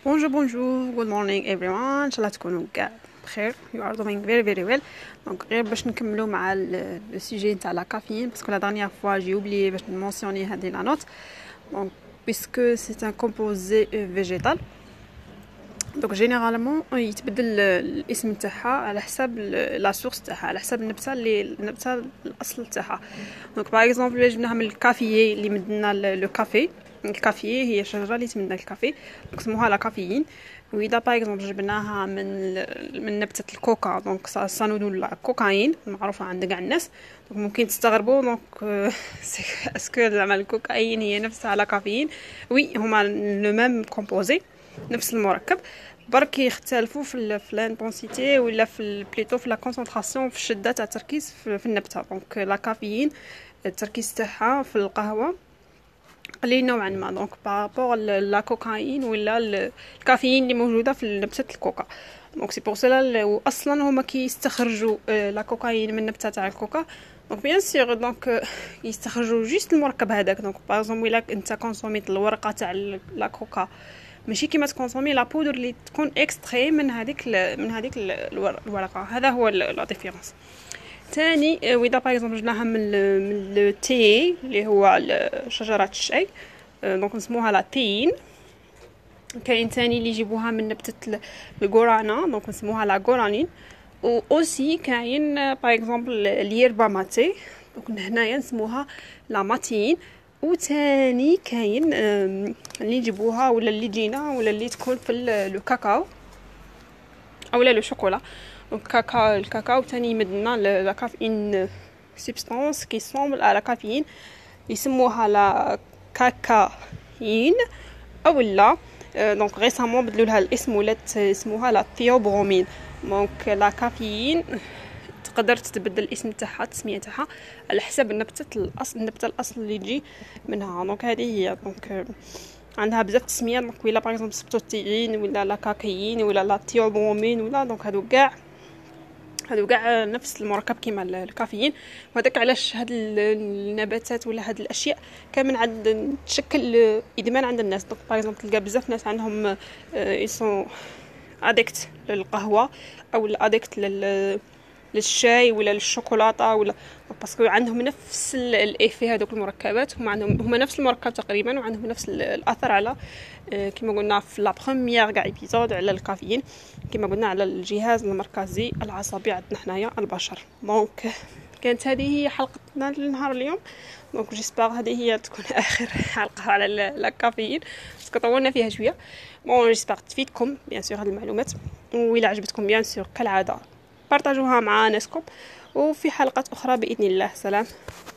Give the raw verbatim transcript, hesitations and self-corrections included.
Bonjour, bonjour, good morning everyone. ان شاء الله تكونوا كاع بخير. You are doing very very well. دونك غير باش نكملوا مع لو سوجي نتاع لا كافيين باسكو لا دانيير فوا جي اوبليي باش نمونسيوني هذه لا نوت. دونك بيسكو سي ان كومبوزي فيجيتال، دونك جينيرالمون يتبدل الاسم تاعها على حساب لا سورس تاعها، على حساب النبته اللي النبته الاصل تاعها. دونك باغ اكزومبل جبناها من الكافيي اللي مدنا لو كافي. الكافيي هي شجره اللي تمدنا الكافي، دونك سموها لا كافيين. واذا باغ اكزومبل جبناها من من نبته الكوكا، دونك سانودو لا كوكايين معروفه عند كاع الناس. دونك ممكن تستغربوا دونك اسكو زعما الكوكايين هي نفسها لا كافيين؟ وي، هما لو ميم كومبوزي، نفس المركب، برك يختلفوا في في الانتونسيتي ولا في بليتو في لا كونسونطراسيون، في الشده تاع التركيز في, في النبته. دونك لا كافيين التركيز تاعها في القهوه قليل نوعا ما، دونك بارابور لا كوكايين ولا الكافيين اللي موجوده في نبته الكوكا. دونك سي بور سلا اصلا هما كيستخرجوا لا كوكايين من النبته تاع الكوكا. دونك بيان سيغ دونك يستخرجوا جوست المركب هذاك. دونك باغ اكزومبل الا انت كونسوميت الورقه تاع لا كوكا، ماشي كيما تكونسومي لا بودر اللي تكون اكستري من هذيك من هذيك الورقه. هذا هو لا ديفيرونس. ثاني واذا باغ اكزومبل جبناها من من لو تي اللي هو شجره الشاي، دونك نسموها لا تين. كاين ثاني اللي يجيبوها من نبته الغورانا، دونك نسموها لا غورانين. و اوسي كاين باغ اكزومبل اليربا ماتي، دونك هنايا نسموها لا ماتين. وثاني كاين اللي يجيبوها ولا اللي جينا ولا اللي تكون في لو كاكاو اولا لو شوكولا. دونك كاكاو الكاكاو ثاني يمدنا لا كافيين سبستانس كي سومبل على كافيين، يسموها لا كاكاين اولا. دونك ريسامون بدلوا لها الاسم ولات اسمها لا ثيوبرومين. دونك لا كافيين تقدر تتبدل الاسم تاعها التسميه تاعها على حسب النبته الاصل النبته الاصل اللي تجي منها. دونك هذه هي دونك عندها بزاف تسميات. دونك ولا باغ اكزومبل سبتوتيين ولا لا كاكايين ولا لا ثيوبرومين ولا، دونك هادو كاع هادو كاع نفس المركب كيما الكافيين. وهذاك علاش هاد النباتات ولا هاد الاشياء كامل عند تشكل ادمان عند الناس. دونك باغ اكزومبل تلقى بزاف ناس عندهم يسون اديكت للقهوه او اديكت لل للشاي ولا للشوكولاته ولا، باسكو عندهم نفس الايفي. هذوك المركبات هما عندهم هما نفس المركب تقريبا، وعندهم نفس الاثر على كما قلنا في لا بروميير كاع ايبيزود على الكافيين، كما قلنا على الجهاز المركزي العصبي عندنا حنايا البشر. دونك كانت هذه هي حلقتنا لنهار اليوم. دونك جيسبر هذه هي تكون اخر حلقه على الكافيين باسكو طولنا فيها شويه. بون جيسبر تفيدكم بيان سور هذه المعلومات، وإلا عجبتكم بيان سور كالعاده بارطاجوها مع ناسكم. وفي حلقات اخرى باذن الله. سلام.